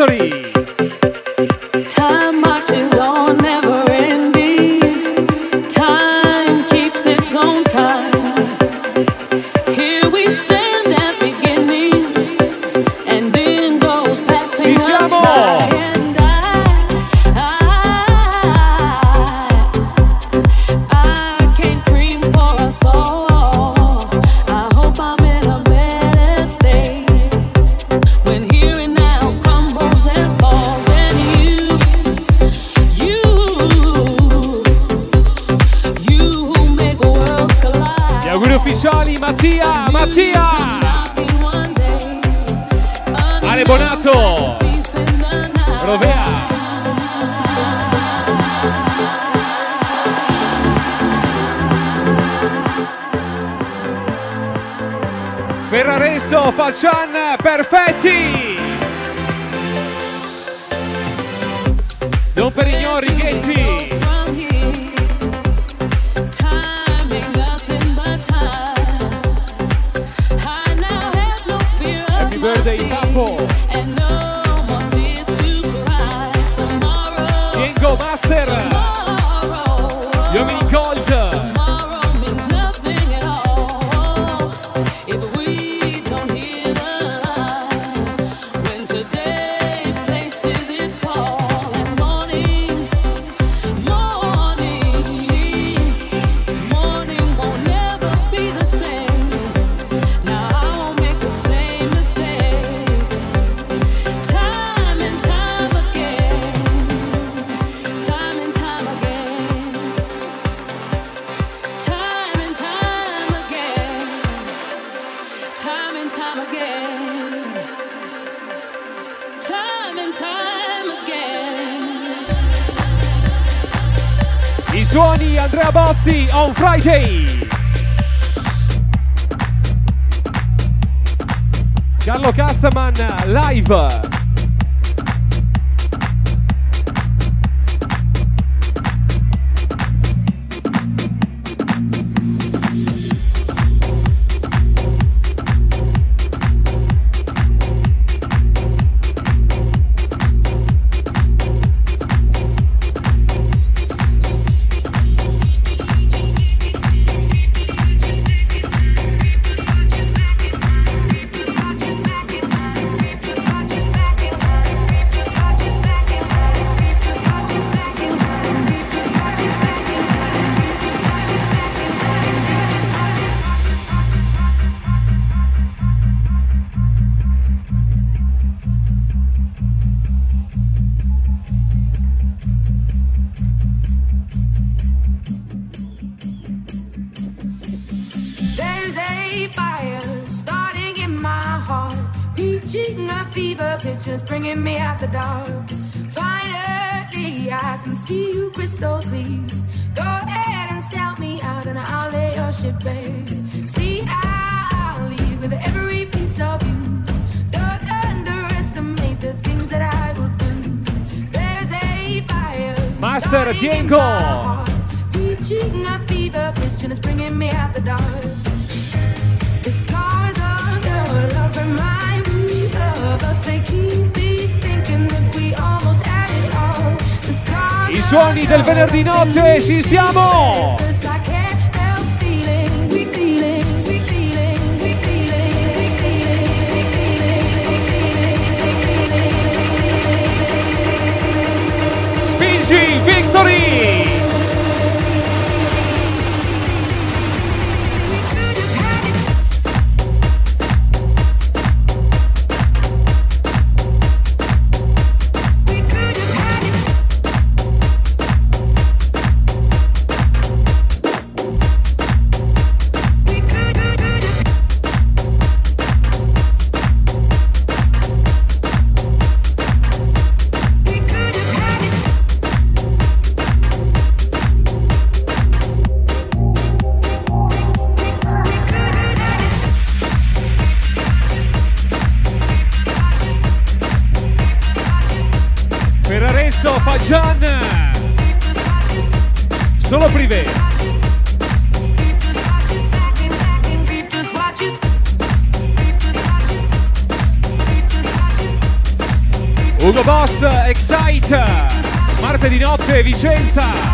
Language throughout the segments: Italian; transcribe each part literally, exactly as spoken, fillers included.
Victory. Time marches on, never ending. Time keeps its own time. Here we stand at beginning, and then goes passing Ci us siamo! by. And I, I, I can't dream for us all. I hope I'm in a better state when here and now crumbles and falls. And you, you, you who make worlds collide. Gli auguri ufficiali Mattia, Mattia! Ale Bonato! Rovea! Ferraresso, Faccian, perfetti! Don Perignon, Righetti! Happy birthday, Capo! Diego Master! Gli uomini Gold! I suoni Andrea Bozzi on Friday. Carlo Castaman live. Just bringing me out the dark. Finally, I can see you crystal clear. Go ahead and sell me out, and I'll lay your ship bare. See, I'll leave with every piece of you. Don't underestimate the things that I will do. There's a fire. Master Diego. Reaching a fever pitch, and it's bringing me out the dark. The scars of your love remind me of us. They keep me thinking that we almost had it all. The scars I suoni del venerdì notte, ci siamo! Spingi, Victory! Fagian, solo privé. Ugo Boss, Excite, martedì notte Vicenza.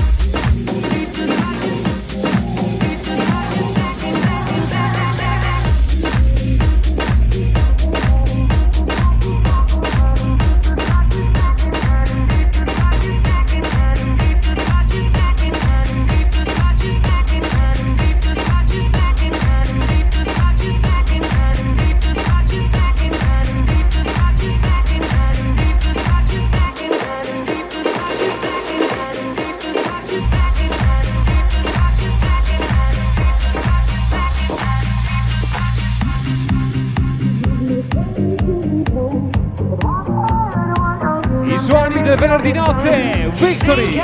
Suoni del venerdì notte, Victory!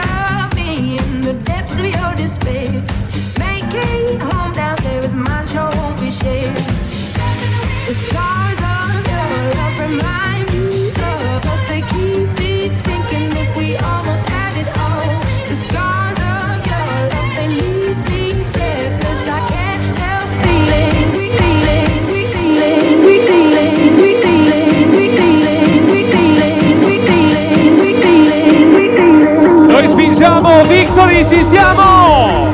Spingiamo, Victory, ci siamo!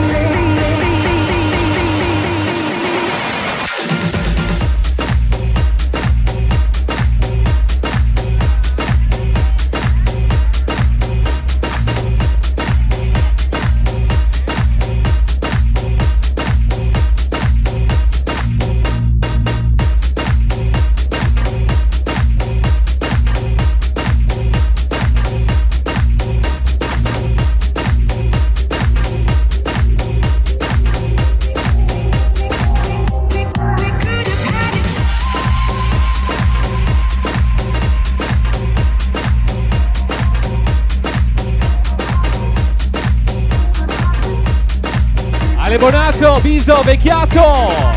Ale Bonato, Biso, Vecchiato!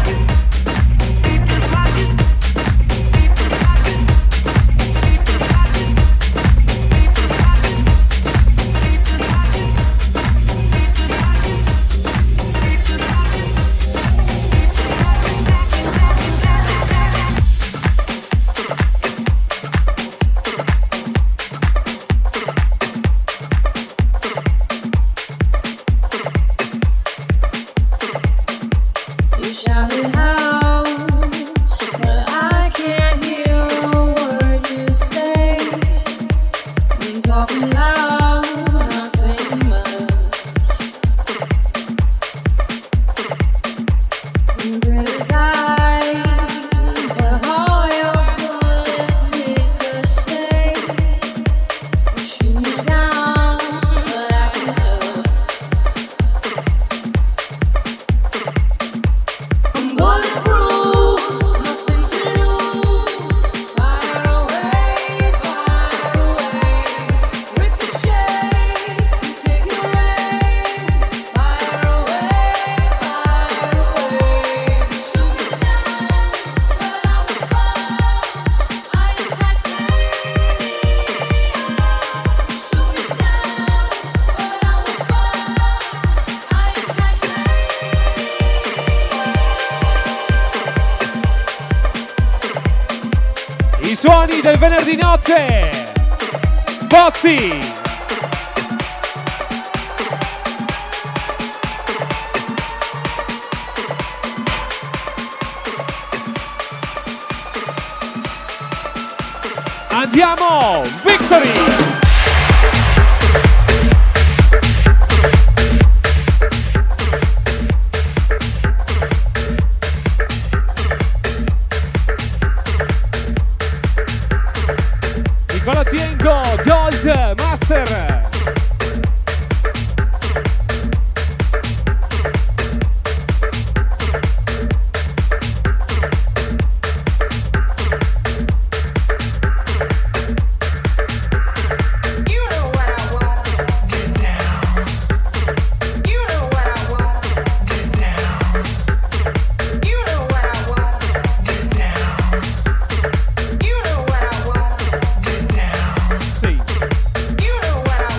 Suoni del venerdì notte, Bozzi! Andiamo, Victory! Colatienko, Gold, Master. You know what I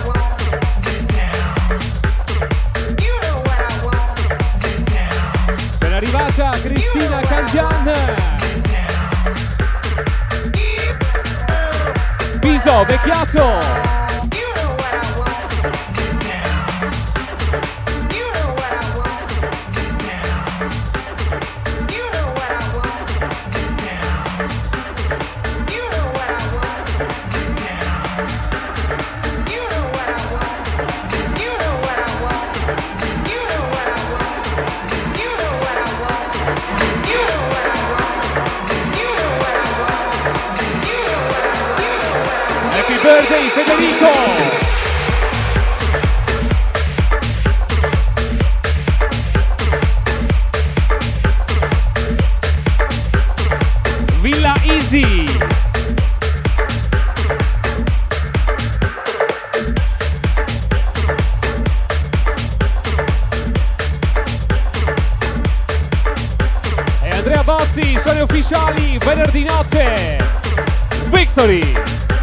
Enzo Vecchiato. Birthday Federico! Villa Easy! E Andrea Bozzi, suoni ufficiali, venerdì notte! Victory!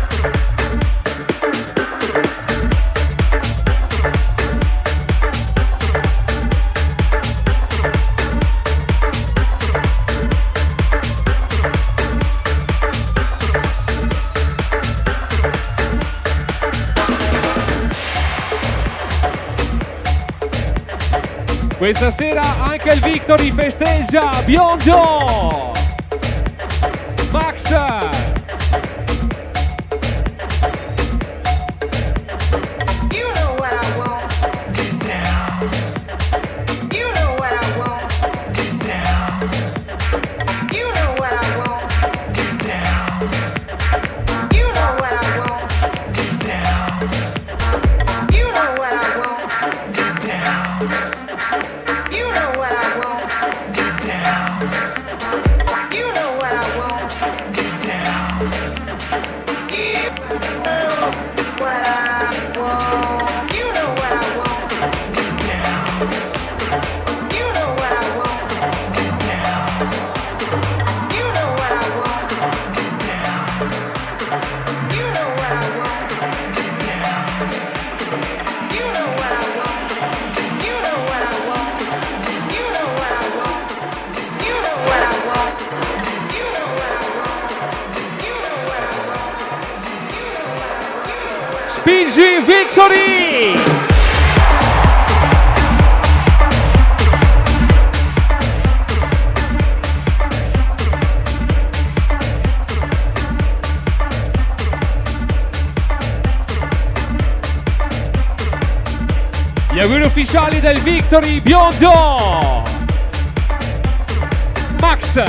Questa sera anche il Victory festeggia biondo! Max! Spingi Victory! Gli auguri ufficiali del Victory biondo! Max!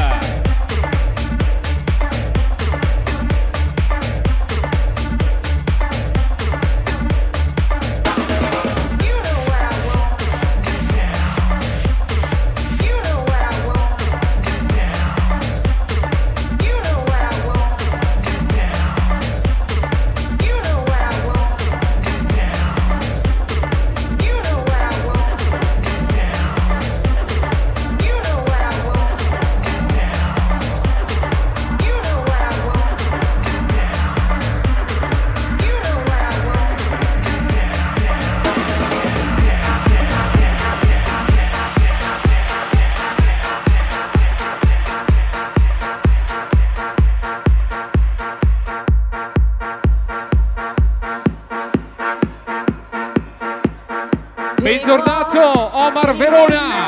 Bentornato Omar Verona!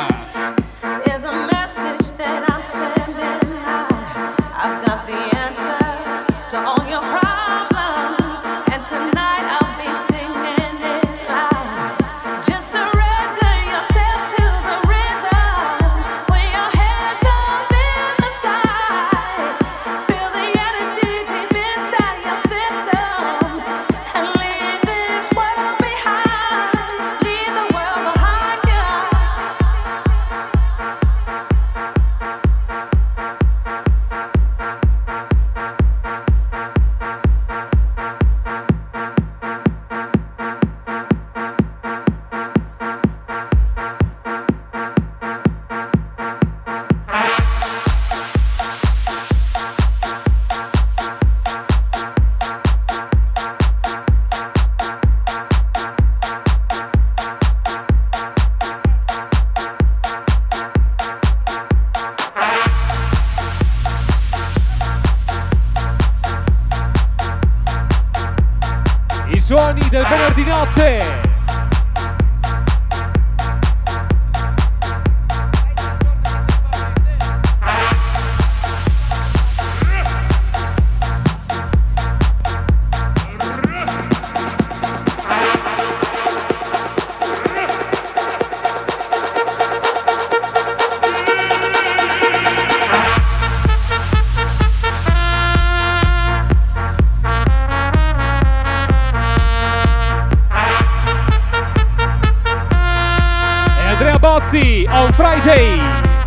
suoni del venerdì notte. On Friday.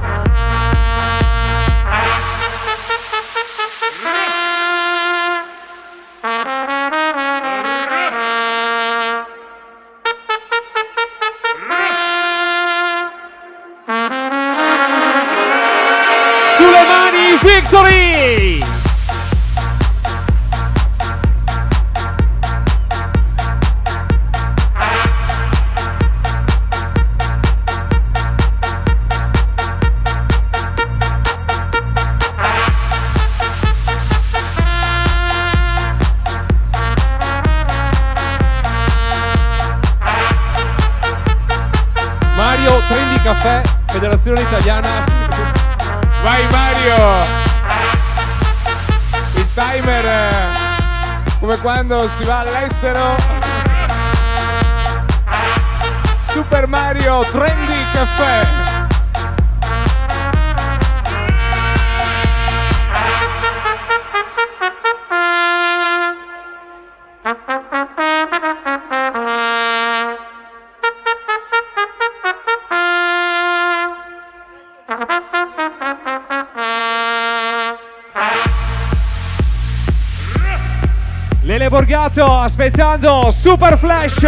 Sulle mani, Victory! Trendy Caffè, Federazione Italiana. Vai Mario! Il timer come quando si va all'estero. Super Mario Trendy Caffè. Lele Borgato aspettando Super Flash.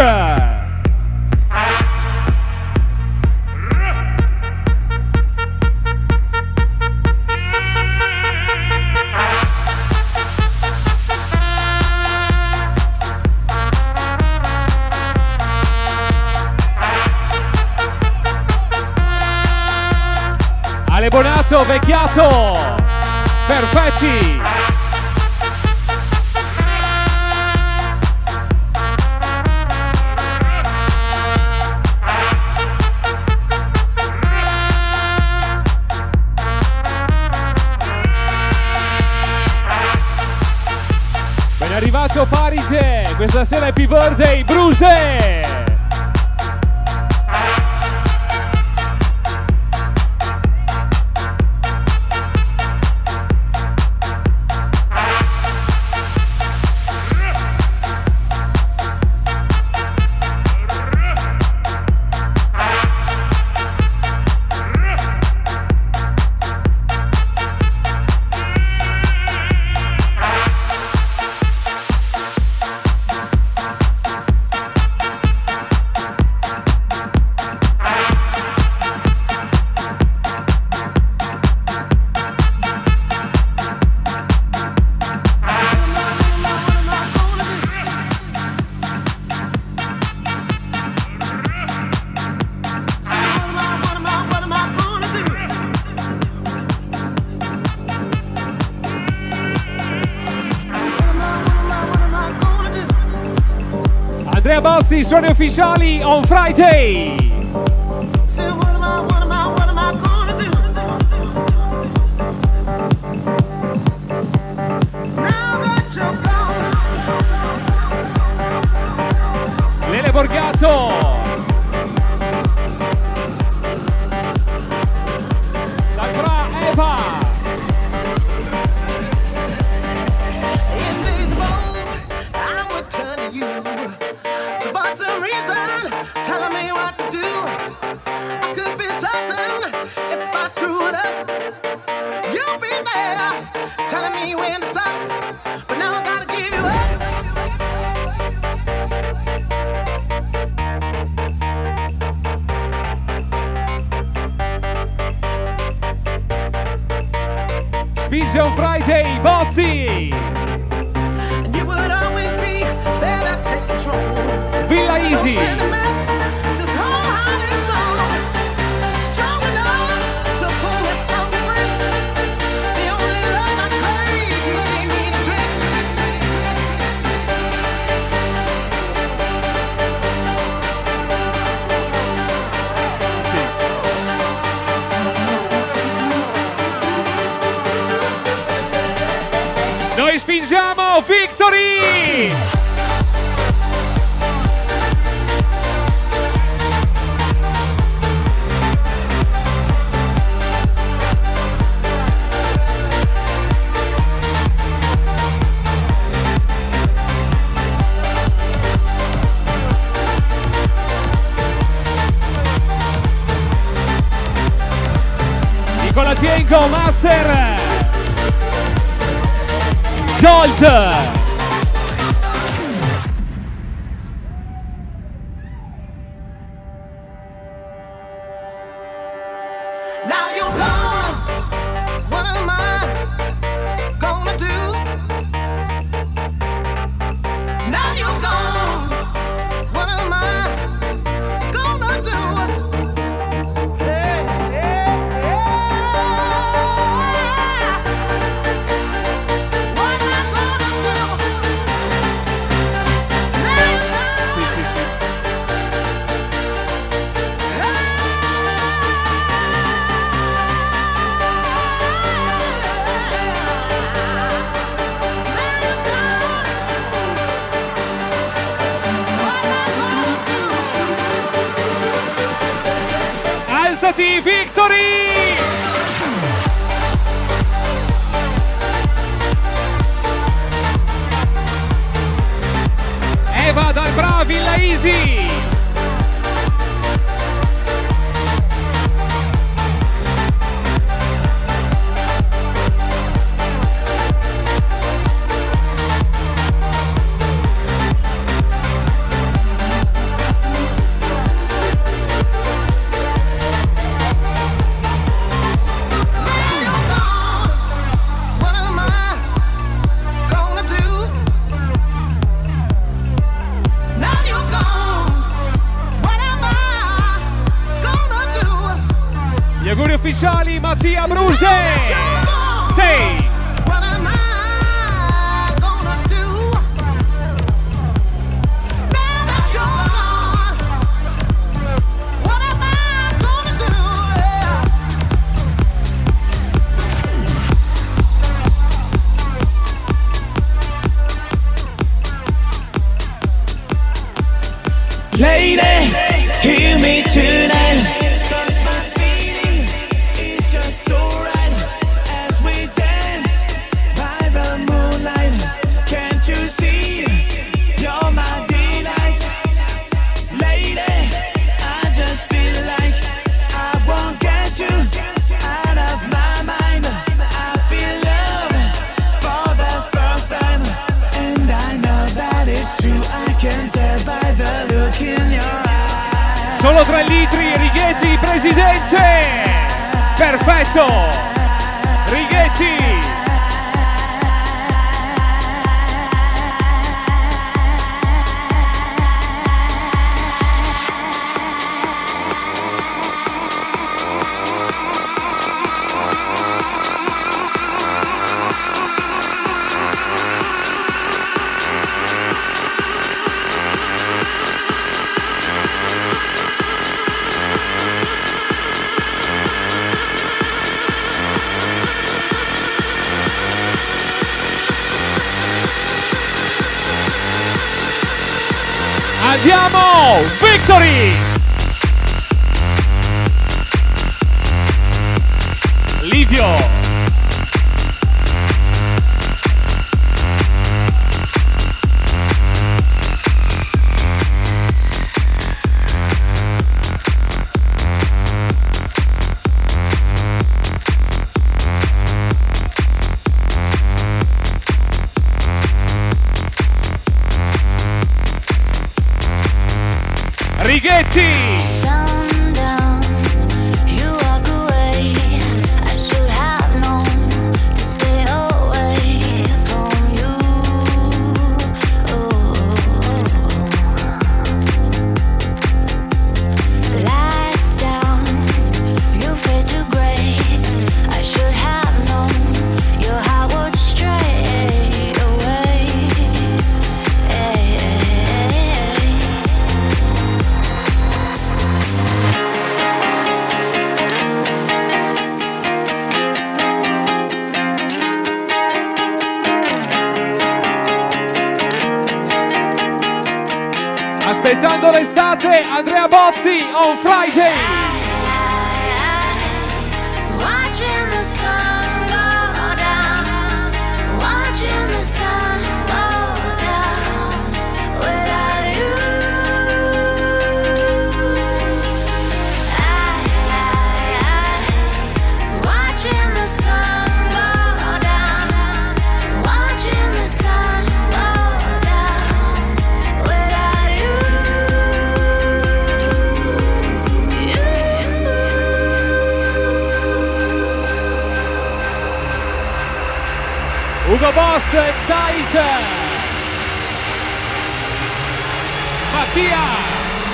Ale Bonato, Vecchiato, perfetti. Ben arrivato Parite, questa sera Happy Birthday Bruse. Andrea Bossi, suoni ufficiali On Friday. Lele Borgato. Dal Eva. Spinge On Friday, Bossi. Villa Easy. Noi spingiamo Victory! Nicola Tienko, Master Gold. Now you're gone. What am I gonna do? Now you're gone. What am I gonna do? Hey, hey, hey. What am I gonna do? Now you're gone. Sì, sì, sì. Alzati, Victory! Eva dal Bra, Villa Easy! What am I gonna do? Now you're gone. What am I gonna do? Gli auguri ufficiali Mattia Bruse! sei! What am I gonna do? Now that you're gone, what am I gonna do? Yeah. Lady, hear me tonight. Solo tre litri, Righetti, presidente! Perfetto! Righetti! Andiamo! Victory! Livio! Righetti! Sundown, you walk away. I should have known to stay away from you. Oh. Lights down, you fade to gray. I should have known your heart would stray away. Hey, hey, hey. Aspettando l'estate, Andrea Bozzi on Friday. Watching the sun go down, watching the sun go down without you. I, I, I, watching the sun go down, watching the sun go down without you. Ugo Boss, Excite. Mattia.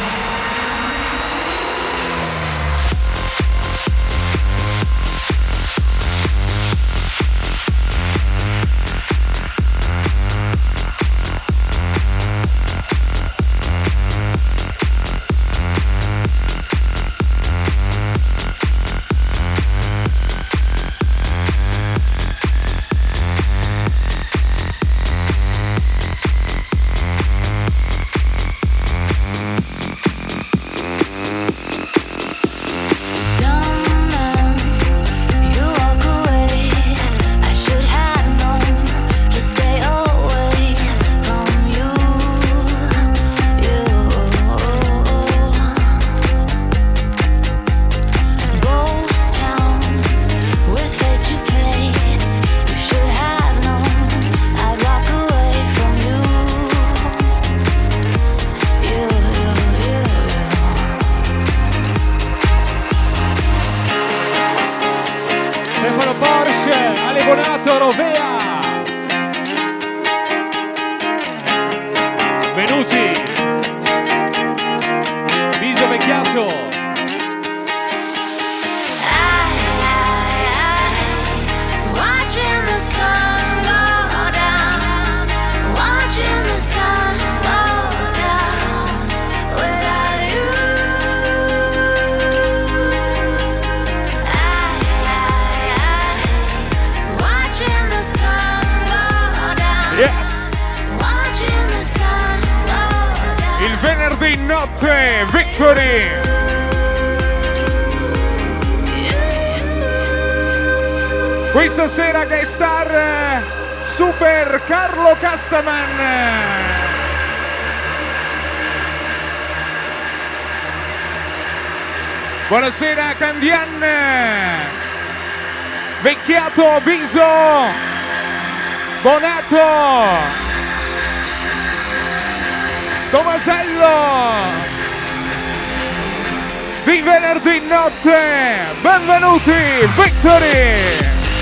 Victory! Questa sera che star Super Carlo Castaman. Buonasera Candian. Vecchiato Viso. Bonato. Tomasello. Di venerdì notte, benvenuti, Victory!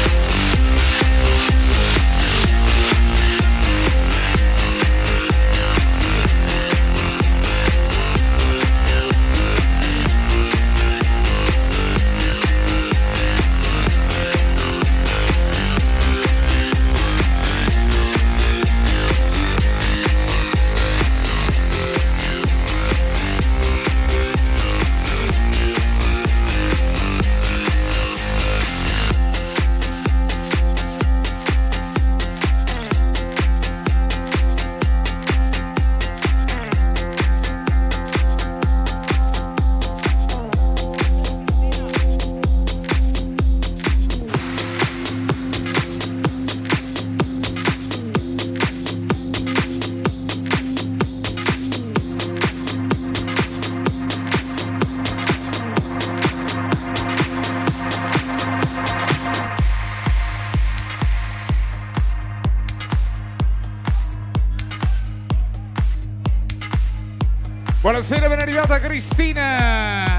Buonasera, ben arrivata Cristina.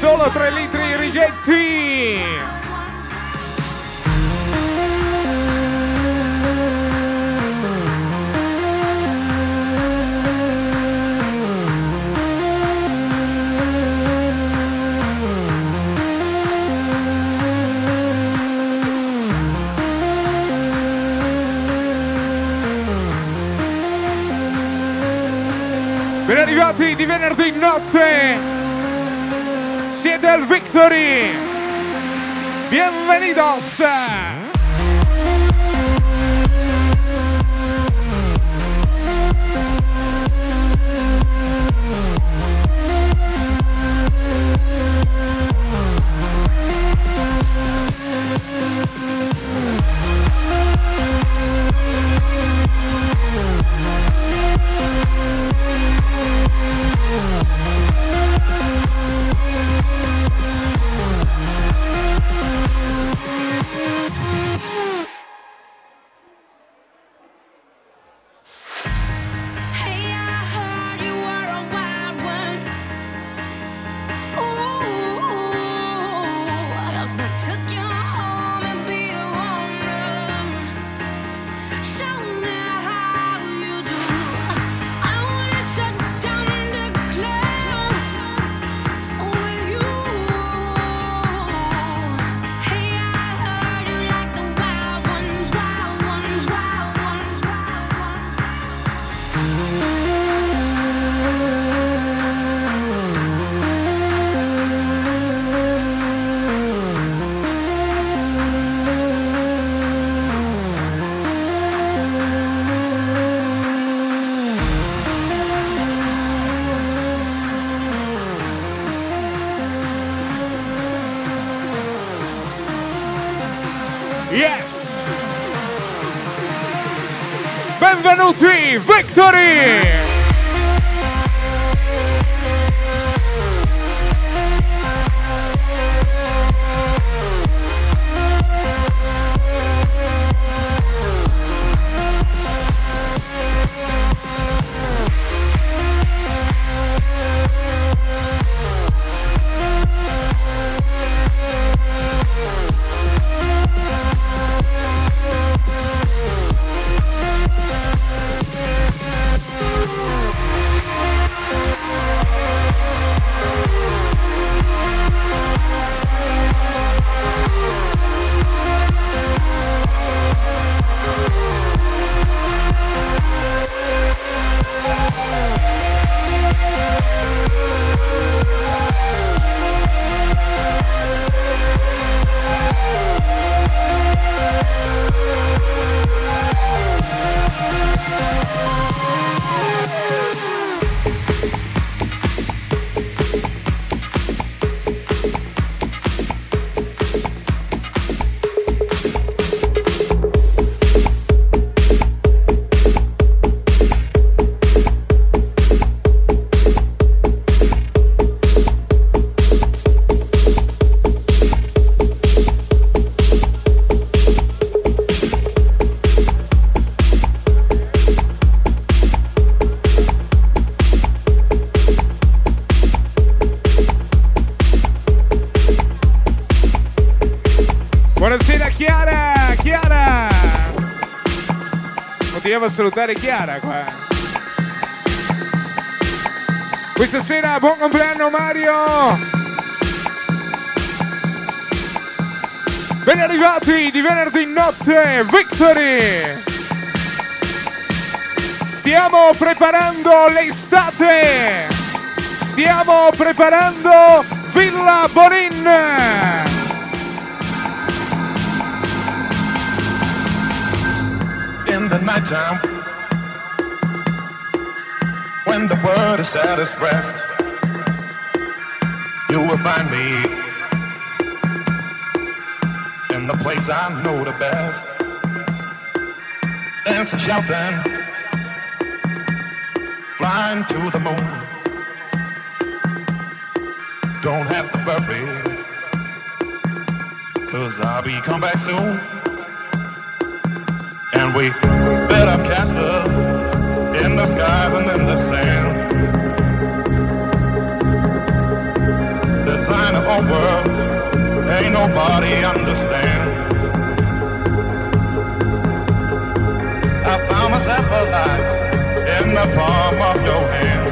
solo tre litri Rigetti. Ben arrivati di venerdì notte, siete al Victory, bienvenidos. Yes! Benvenuti, Victory! Buonasera Chiara, Chiara! Continuiamo a salutare Chiara qua. Questa sera buon compleanno Mario! Ben arrivati di venerdì notte, Victory! Stiamo preparando l'estate! Stiamo preparando Villa Bonin! In the nighttime, when the world is at its rest, you will find me in the place I know the best, dancing, shouting, flying to the moon. Don't have to worry, 'cause I'll be come back soon. And we built up castles in the skies and in the sand, design a whole world, ain't nobody understand. I found myself alive in the palm of your hand.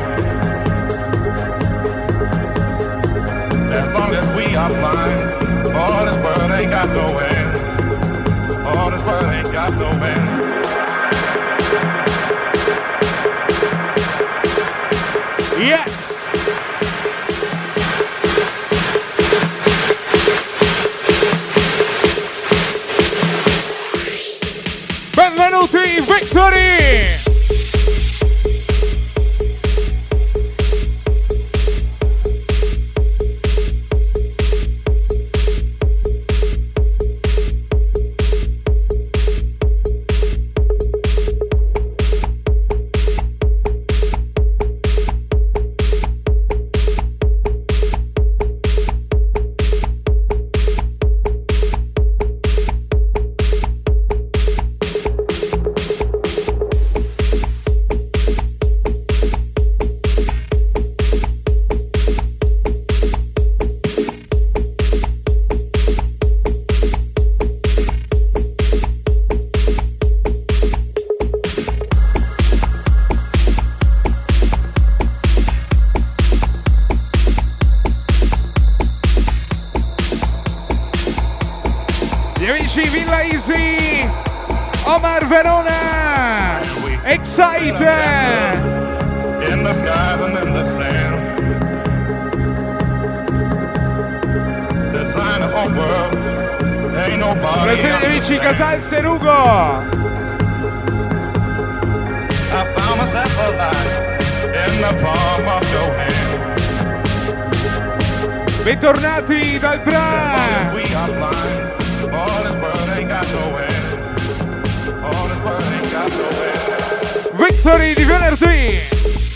As long as we are flying, all this world ain't got no end. All this world ain't got no end. Yes! Benvenuti, Victory! Villa Easy, Omar Verona, Excite, in the skies and in the sand. Design a home world, ain't nobody. Presente amici Casal Serugo. I found myself alive in the palm of your hand. Bentornati dal Bra. We are flying. All this world ain't got no end. All this world ain't got no end. Victory di venerdì.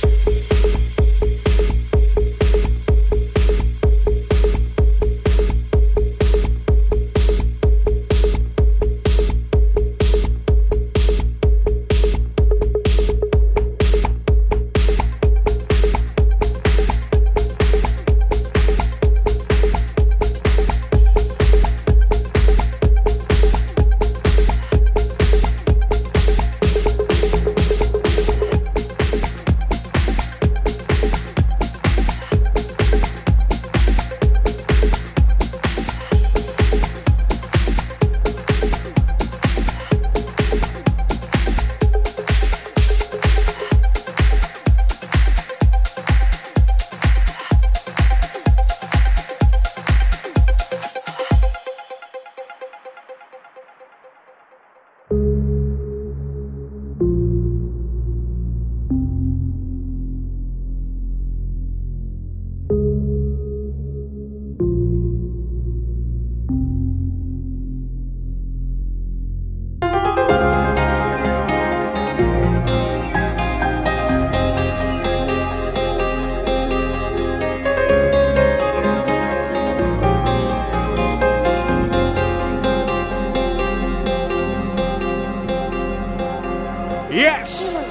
Yes!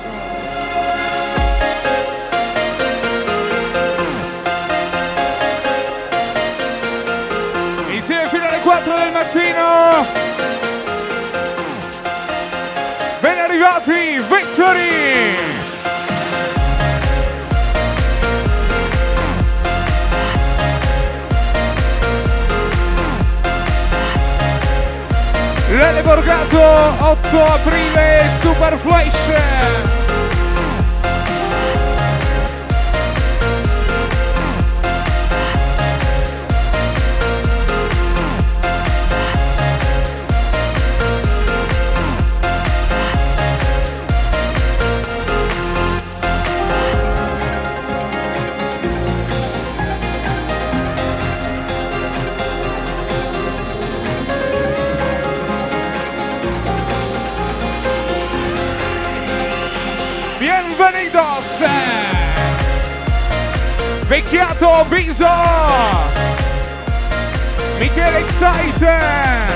Insieme fino alle quattro del mattino. Ben arrivati, Victory! Lele Borgato, otto aprile, Super Flash. Bienvenidos! Vecchiato Biso! Michele Excite!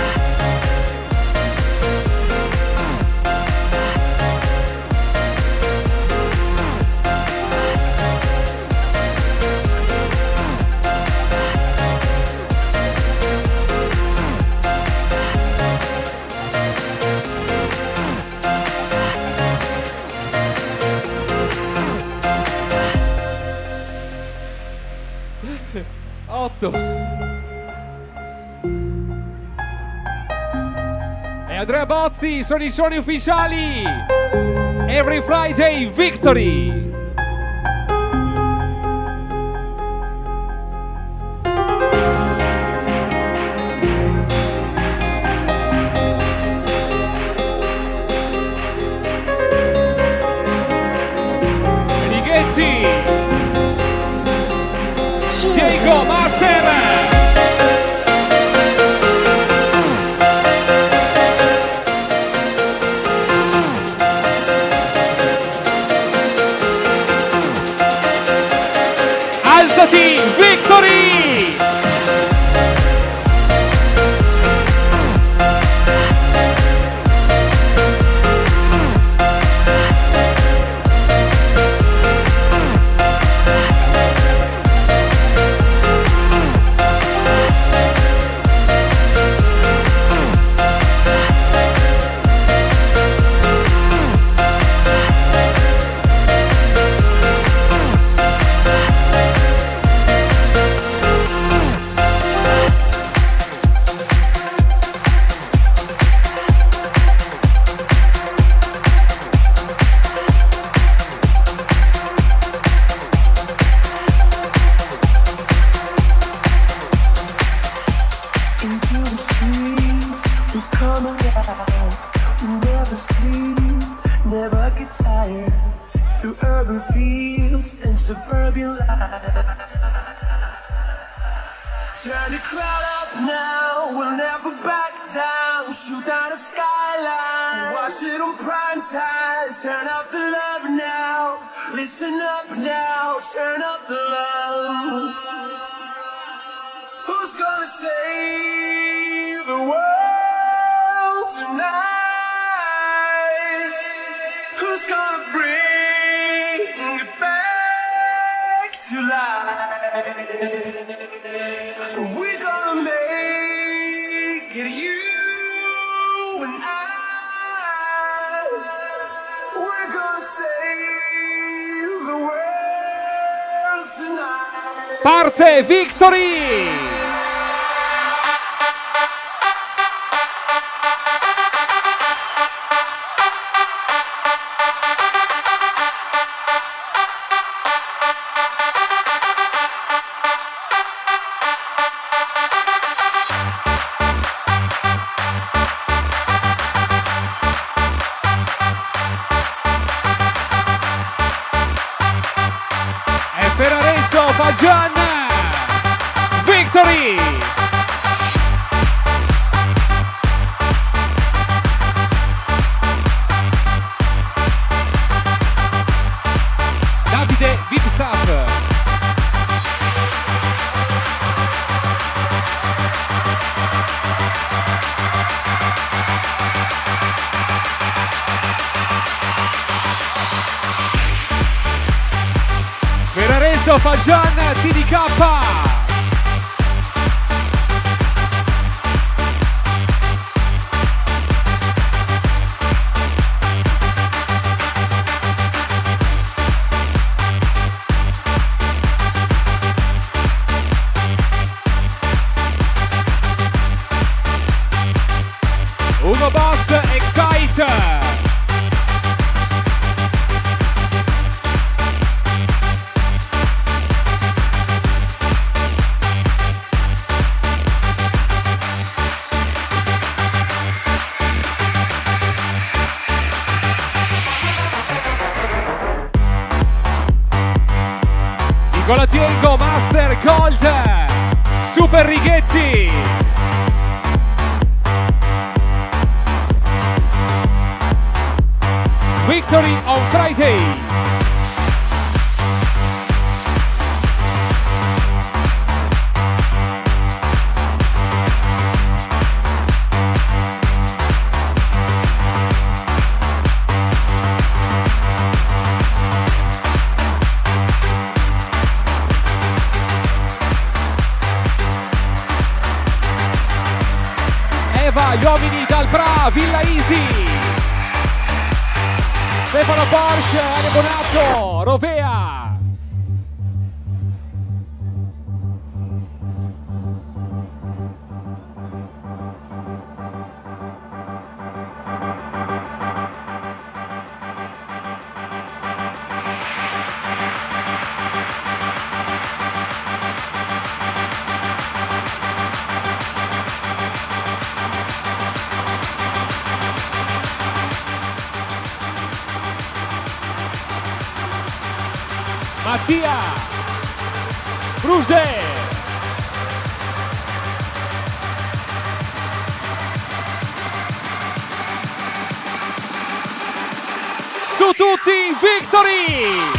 fatto. E Andrea Bozzi sono i suoni ufficiali. Every Friday Victory. Diego Master. Alzati, Victory. Turn the crowd up now, we'll never back down. Shoot down the skyline, watch it on prime time. Turn up the love now, listen up now. Turn up the love. Who's gonna save the world tonight? Who's gonna bring it back to life? We're gonna make it, you and I. We're gonna save the world tonight. Parte Victory! Fagian Victory. Davide Big Stuff. Ferraresso Fagian T D K. Ugo Boss Excite. Nicola Diego Master Gold Super Righezzi. Victory on Friday. Eva, gli uomini dal Bra, Villa Easy. Stefano Porsche, Ale Bonato, Rovea. Mattia Bruse. Su tutti, Victory!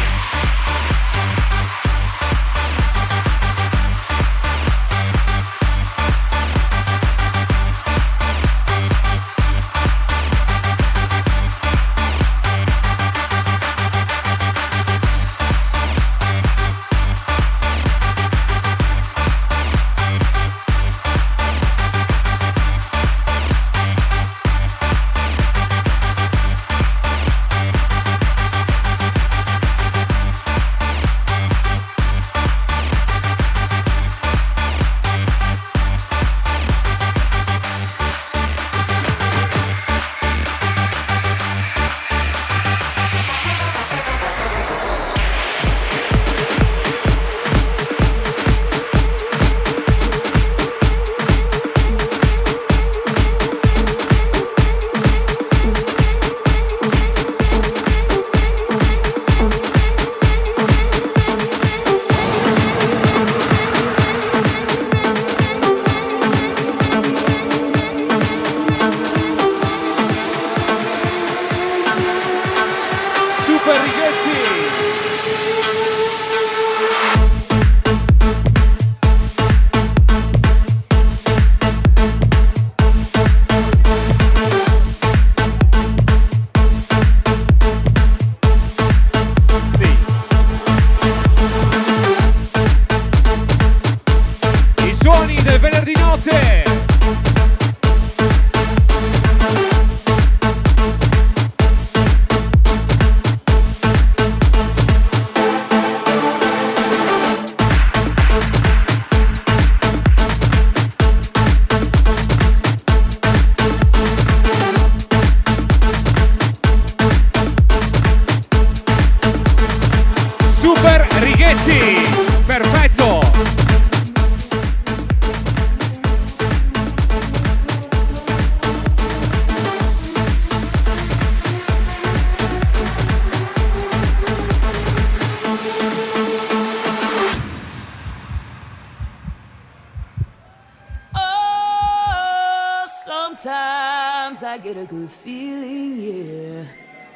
Sometimes I get a good feeling, yeah.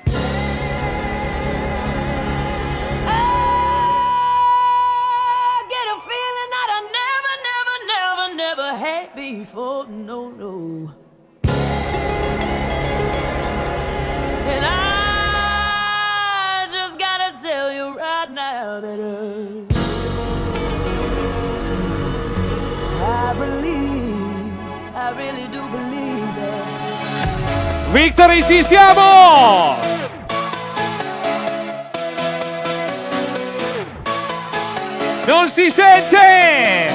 I get a feeling that I never, never, never, never had before, no, no. And I just gotta tell you right now that uh, I believe, I really do believe that. Victory, ci siamo! Non si sente!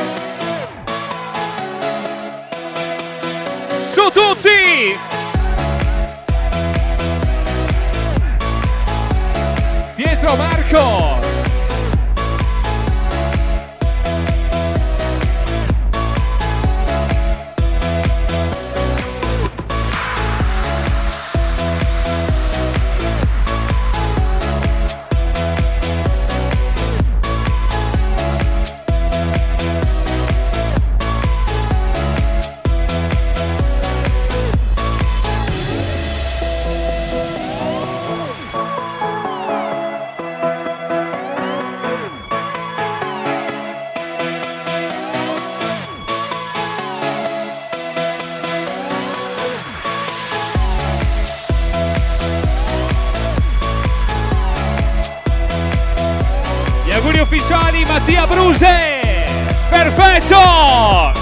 Su tutti! Pietro Marco! Auguri ufficiali Mattia Bruse, perfetto!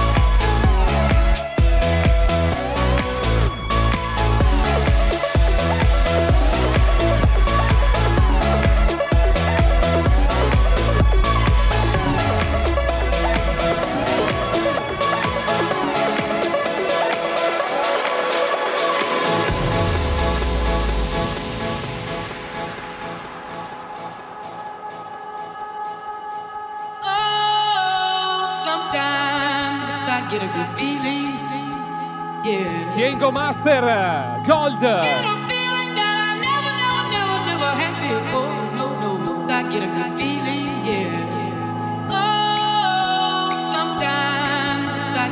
Get a good feeling, yeah. Kiengo Master Gold. Get a feeling that I never, never, never, never had before. No, no, no. I get a good feeling.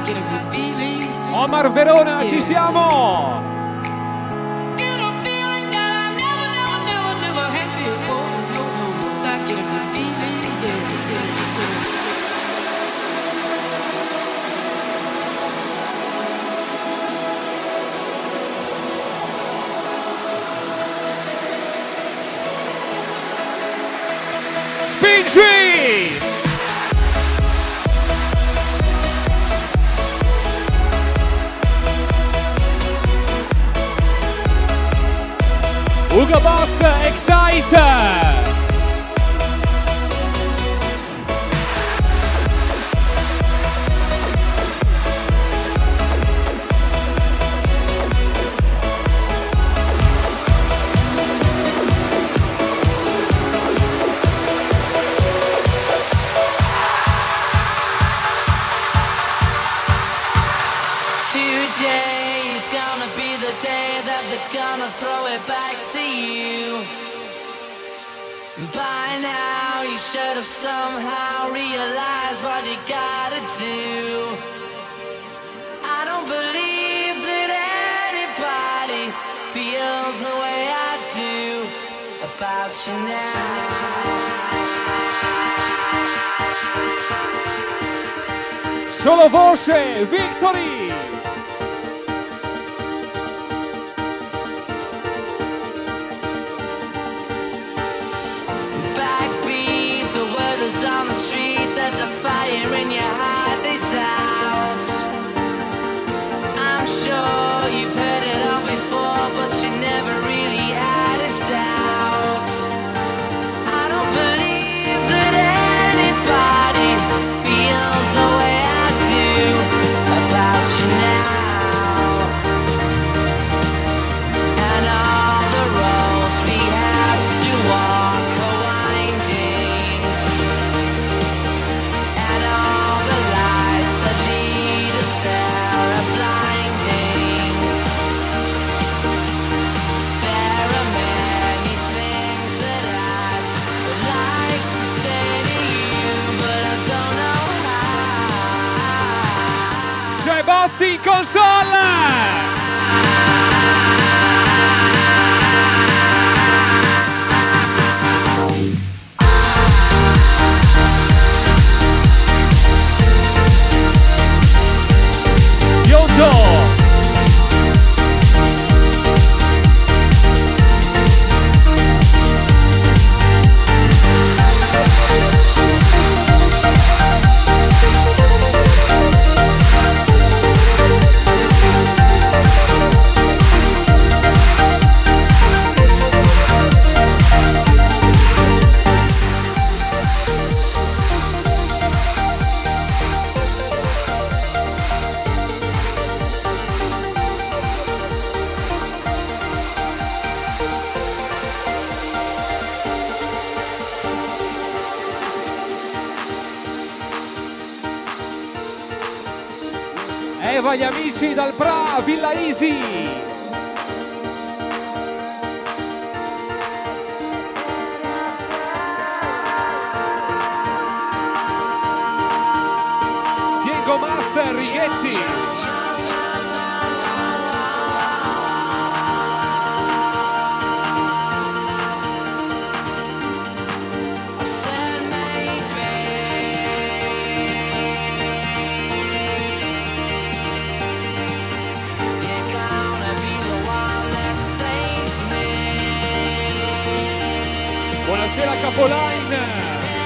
get a good feeling. Omar Verona, ci siamo! Get a feeling that I never, never, never, never had before. No, no, no, I get a good feeling, yeah, yeah, yeah. Spingi! Ugo Boss, Excite! Today's gonna be the day that they're gonna throw it back to you. By now you should have somehow realized what you gotta do. I don't believe that anybody feels the way I do about you now. Solo voce, Victory! Backbeat, the word is on the street that the fire in your heart is out. I'm sure you've heard it all before, but you never really had a doubt. I don't believe that anybody feels the way I do about you now. And all the roads we have to walk are winding, and all the lights that lead us there are blinding. There are many things that I would like to say to you, but I don't know how. C'è Bozzi in console! Biondo! Eva, gli amici dal Pra, Villa Easy! Diego Master, Righezzi! Buonasera Capoline!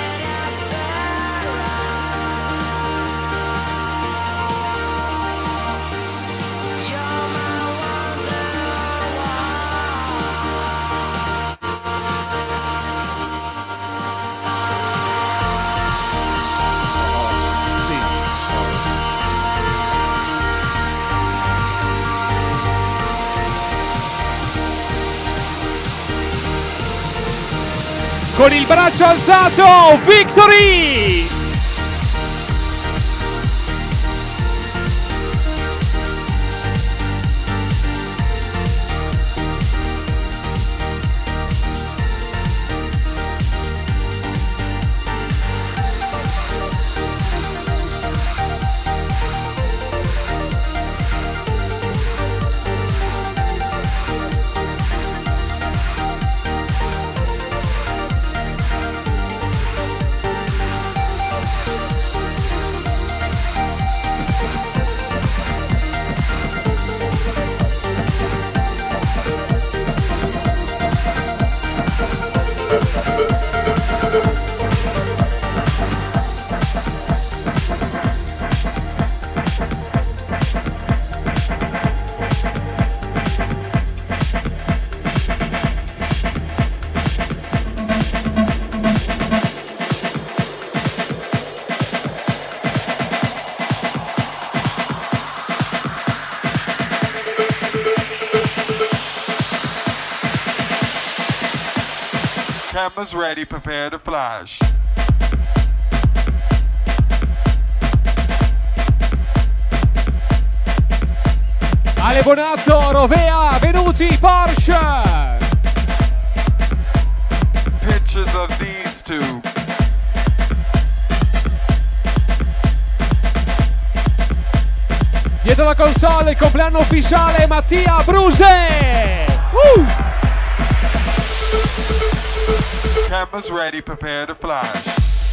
Con il braccio alzato, Victory! Cameras ready, prepare to flash. Ale Bonazzo, Rovea, Venuti, Porsche. Pictures of these two. Dietro la console il compleanno ufficiale Mattia Bruse. Uh! Cameras ready, prepare to flash.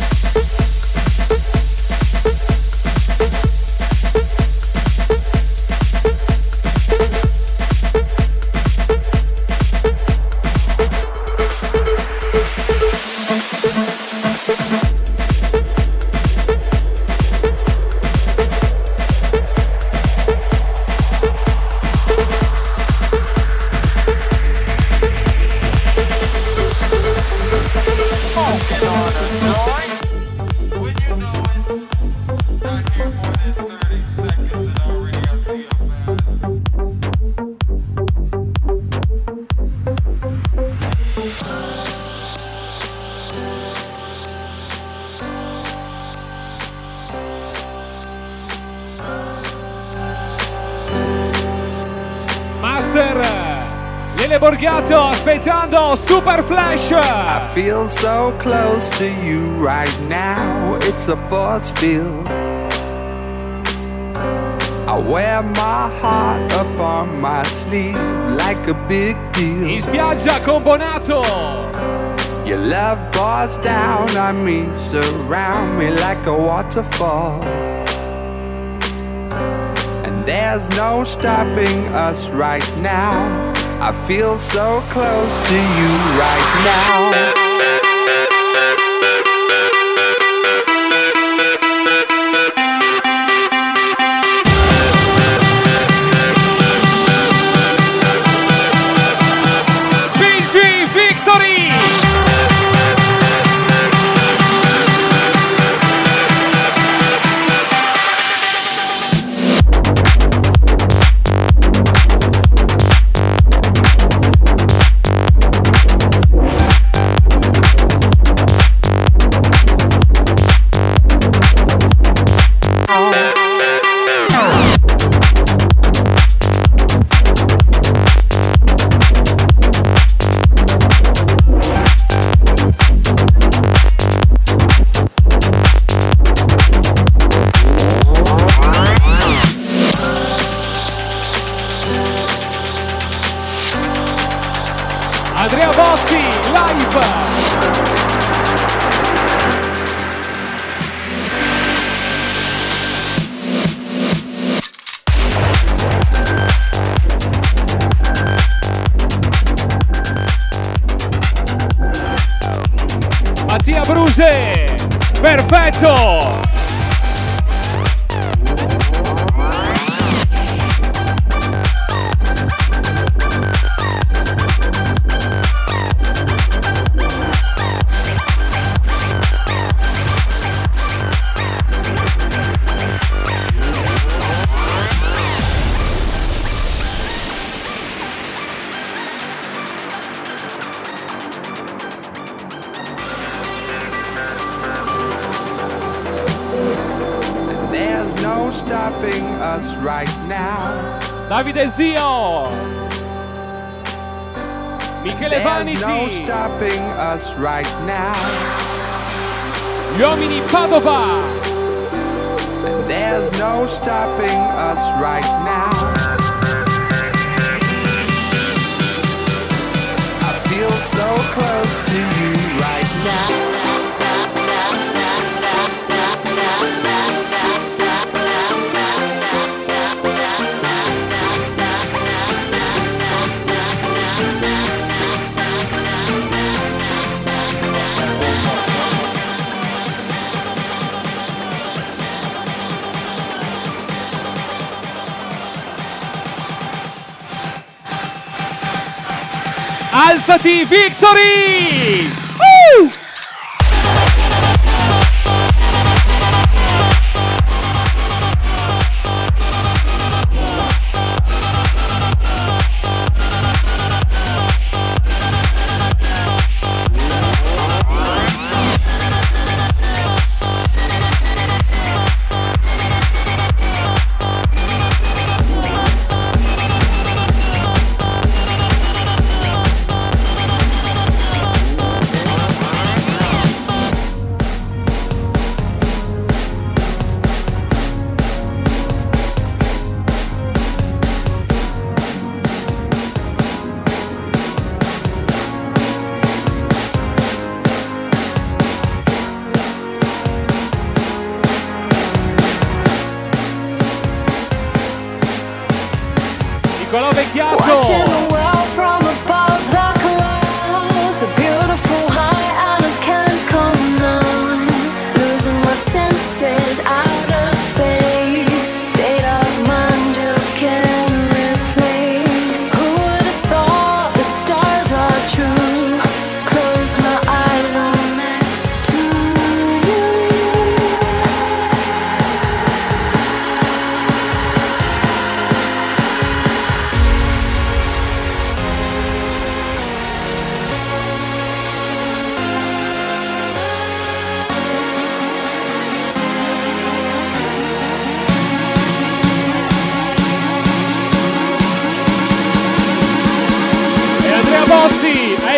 Borgato aspettando Super Flash. I feel so close to you right now. It's a force field. I wear my heart up on my sleeve like a big deal. In spiaggia con Bonato. Your love pours down on me, surround me like a waterfall. And there's no stopping us right now. I feel so close to you right now. Andrea Botti, live! Mattia Bruse, perfetto! Right now. Davide Zio, Michele Vaniti, no stopping us right now. Gli uomini Padova. And there's no stopping us right now. I feel so close to you right now. Alzati, Victory! Uh!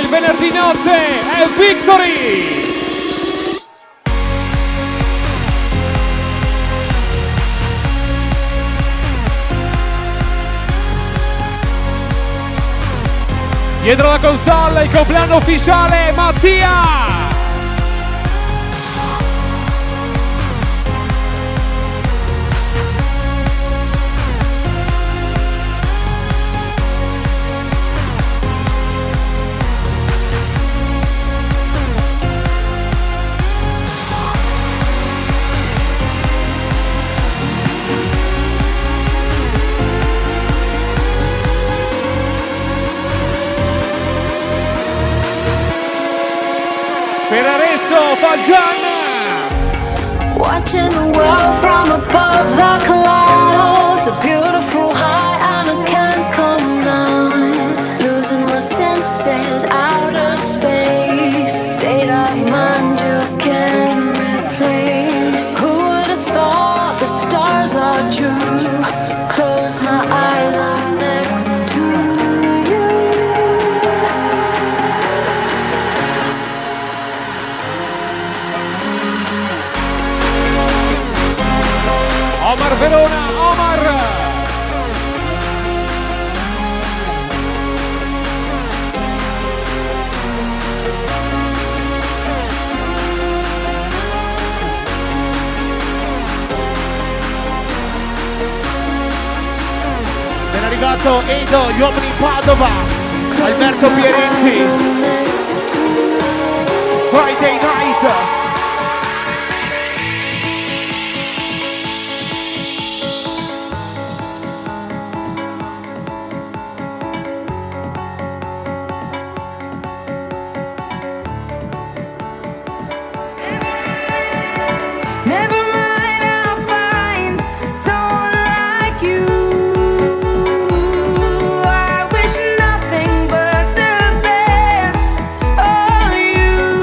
il venerdì notte è Victory! Dietro la console il compleanno ufficiale Mattia! Per adesso Fagiana! Watching the world from above the clouds, a beautiful high and I can't come down. Losing my senses, outer space, a state of mind you can't replace. Who would have thought the stars are true? Close my eyes, I'm next to you. Omar Verona, Omar! Ben arrivato Edo, gli uomini in Padova, Alberto Pieretti, Friday Night. Never mind, I'll find someone like you. I wish nothing but the best of you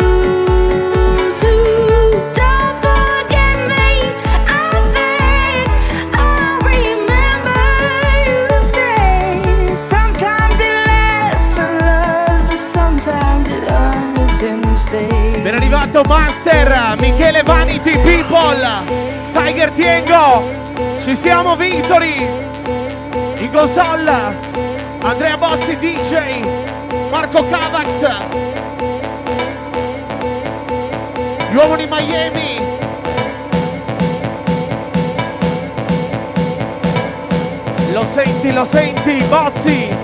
too. Don't forget me, I think I'll remember you to say. Sometimes it lasts and loves, but sometimes it hurts and stays. Ben arrivato Master, Michele Vanity People, Tiger Tiengo, ci siamo Victory, in console, Andrea Bossi D J, Marco Cavax, gli uomini Miami, lo senti, lo senti, Bozzi.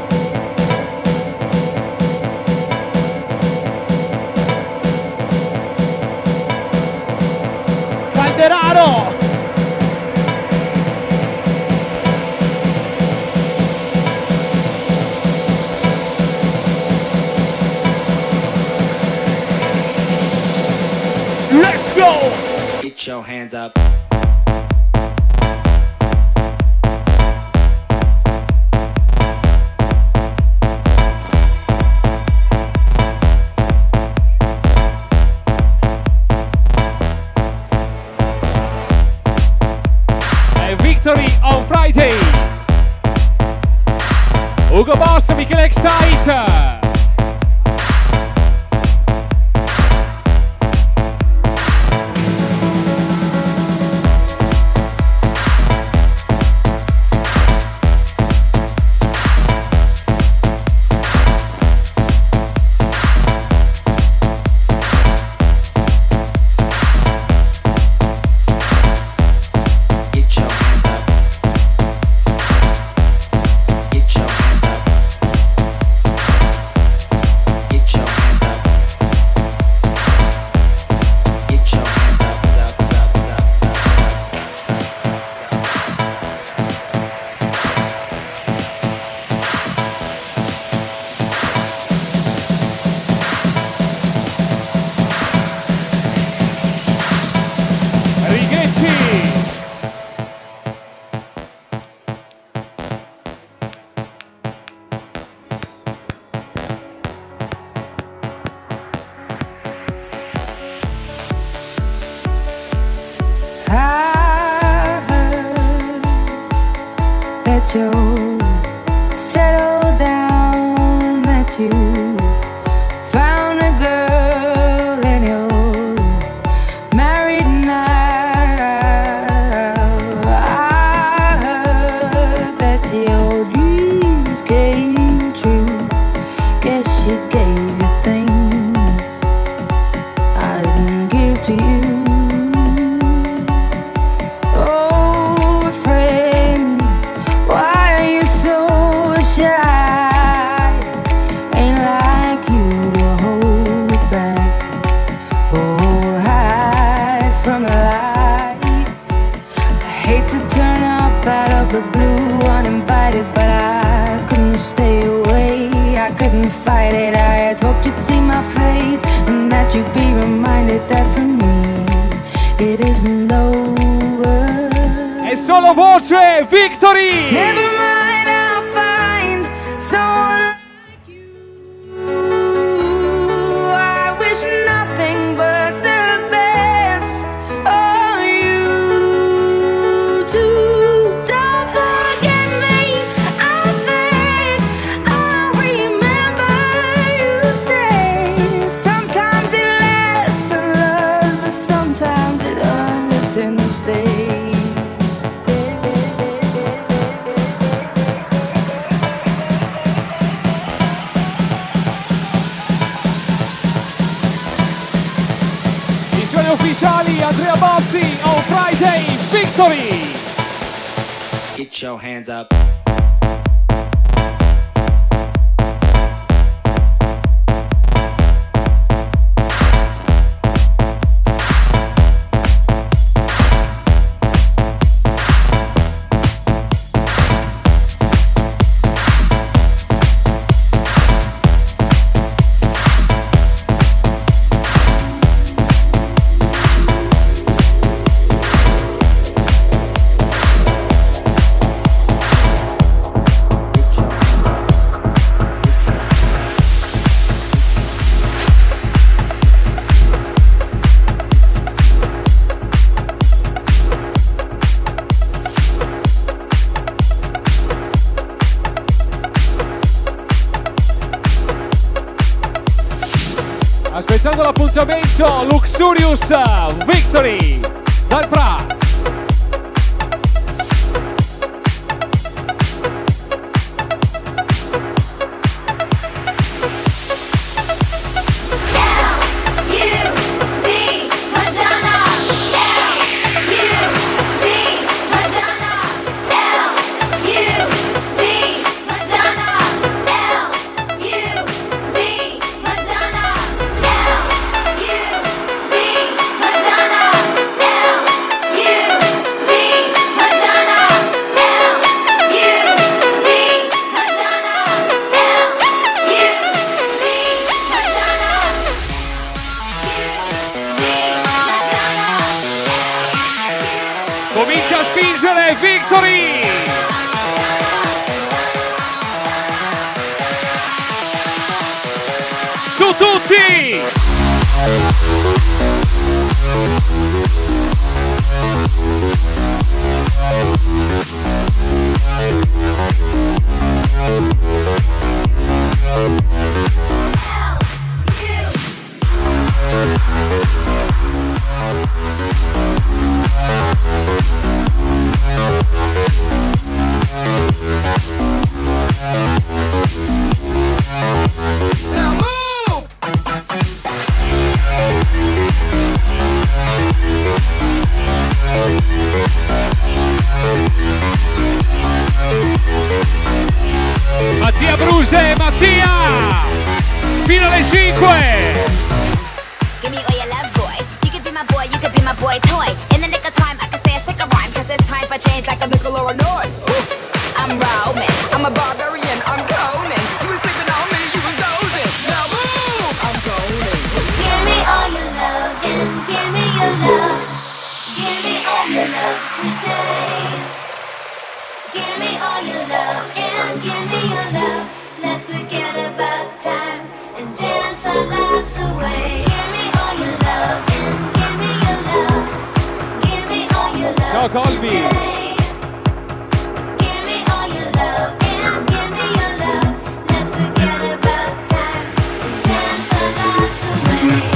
Calderaro! Let's go! Get your hands up. Victory on Friday. Ugo Boss, Michele Excite. that you settle down, that you I couldn't fight it. I had hoped you'd see my face and that you'd be reminded that for me it isn't over. È solo voce, Victory! Never mind, I'll find someone like you. I wish nothing but the best of you too. Don't forget me, I think I'll remember you say sometimes it lasts in love, but sometimes it hurts in the state. Ufficiali Andrea Bozzi on Friday Victory. Get your hands up. Aspettando l'appuntamento Luxurious Victory dal Pra. Comincia a spingere Victory! Su tutti! Mattia Bruse, Mattia! Fino alle cinque! Give me all your love, boy. You can be my boy, you can be my boy toy. In the nick of time, I can say a sick of rhyme, cause it's time for change like a nickel or a noise. I'm roaming, I'm a barbarian, I'm coning. You was sleeping on me, you was dozing. Now move! I'm going. Give me all your love and give me your love. Give me all your love today. Give me all your love and give me your love. Let's forget about time and dance our lives away. Give me all your love and give me your love. Give me all your love. Ciao Colby. Today. Give me all your love and give me your love. Let's forget about time and dance our lives away.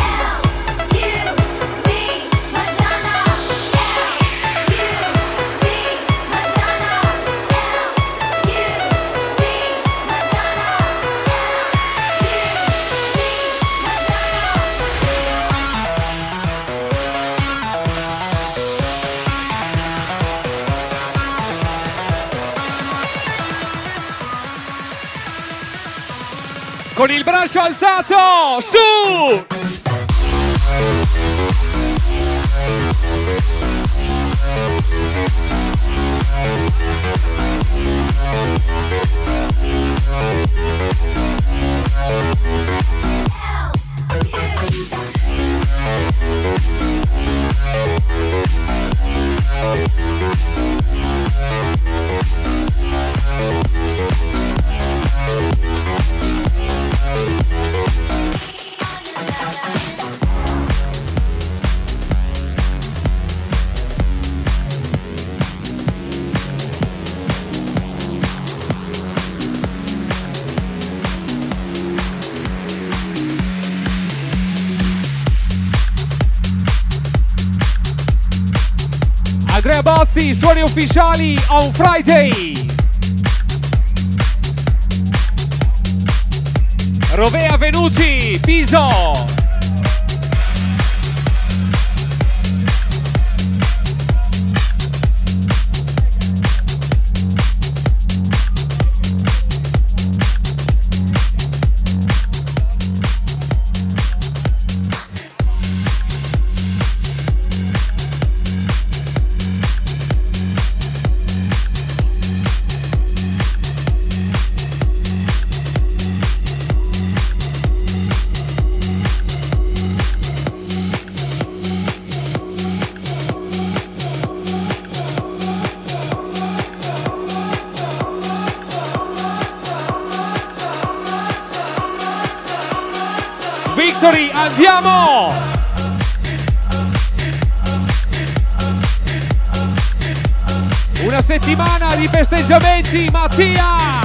Con il braccio alzato, su! Andrea Bozzi, suoni ufficiali on Friday. Rovea Venuti, Piso. Victory, andiamo! Una settimana di festeggiamenti, Mattia!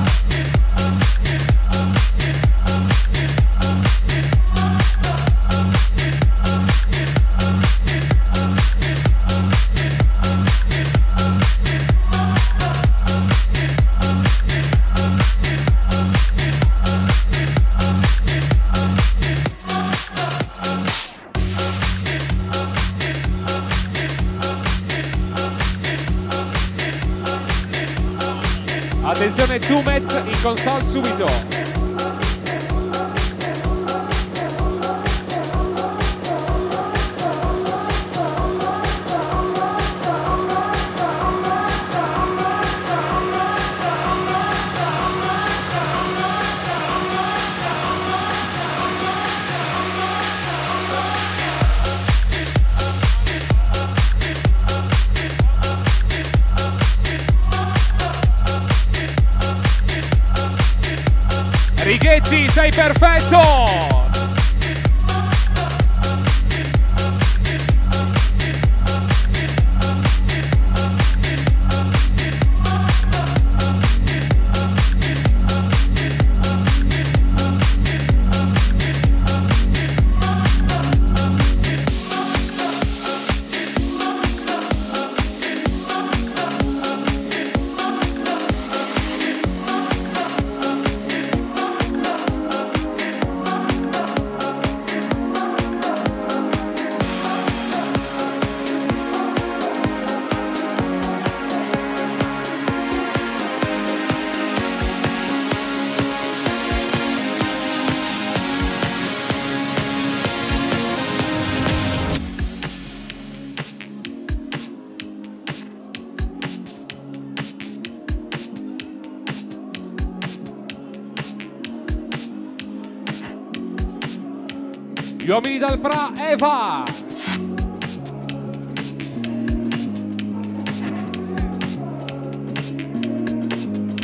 Attenzione, Tumez in console subito. Righetti, sei perfetto! Gli uomini dal Pra, Eva!